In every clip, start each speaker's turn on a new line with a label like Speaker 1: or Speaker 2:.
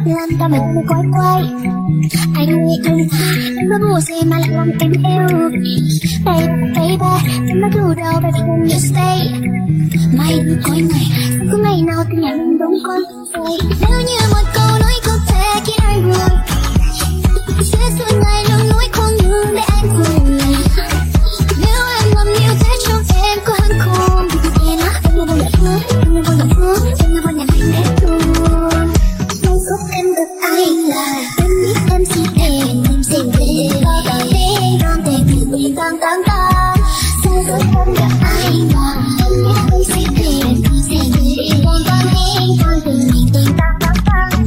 Speaker 1: làm ta mình quay quay. Anh nói buồn gì mà lại làm em yêu. Baby, em nói dù đâu baby when you stay. Mày đừng coi ngày, có ngày nào thì nhà mình đúng con rồi. Nếu như một câu nói không thể khiến anh buồn, sẽ suốt ngày luôn nói không ngừng để anh buồn. Nếu em làm như thế trong em có hơn không? Em nói em là nhà thương, em là nhà thương, em là nhà anh hết luôn. Không giúp em được ai là em biết em sẽ em sẽ về. Con để mình tăng tăng tăng. Không giúp em được ai là em biết em sẽ về. Con để mình tăng tăng tăng.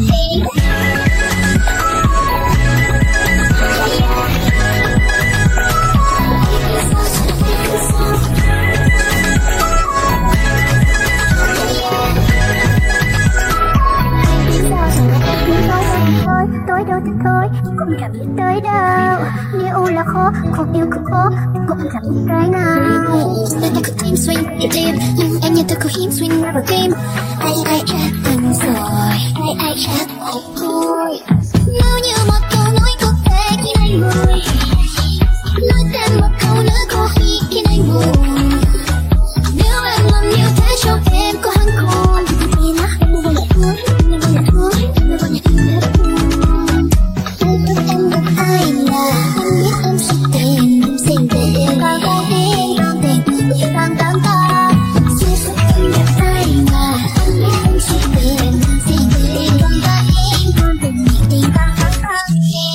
Speaker 1: Tôi đâu thì thôi, cũng chẳng biết tới đâu. Yêu là khó, không yêu cũng khó, cũng chẳng biết cái nào. Tôi ta cứ tim swing nhịp tim, nhưng em như tôi cứ hiếm swing ra vào tim. Ai chat anh rồi, ai chat anh thôi. Nếu như một câu nói có thể khiến anh vui, nói thêm một câu nữa có khi khiến anh buồn. Nếu em làm như thế trong em có hắn khôn, thì nó em là nhà thương, em là nhà thương, em là nhà thương hết luôn. Không biết em được ai là em biết em sẽ tìm em sẽ về. Con tìm người tăng tăng tăng. Chưa biết em được ai là em biết em sẽ tìm em sẽ về. Con tìm người tăng tăng tăng.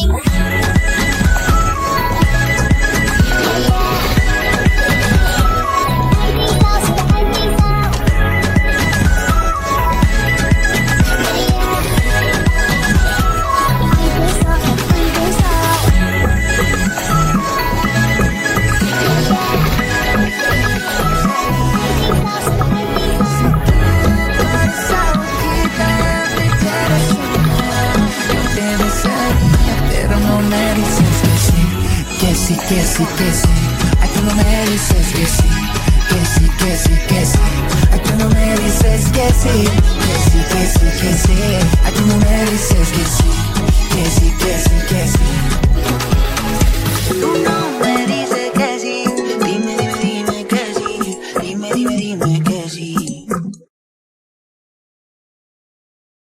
Speaker 2: Que sí, ay tú no me dices que sí, que sí, ay tú no me dices que sí, que sí, ay tú no me dices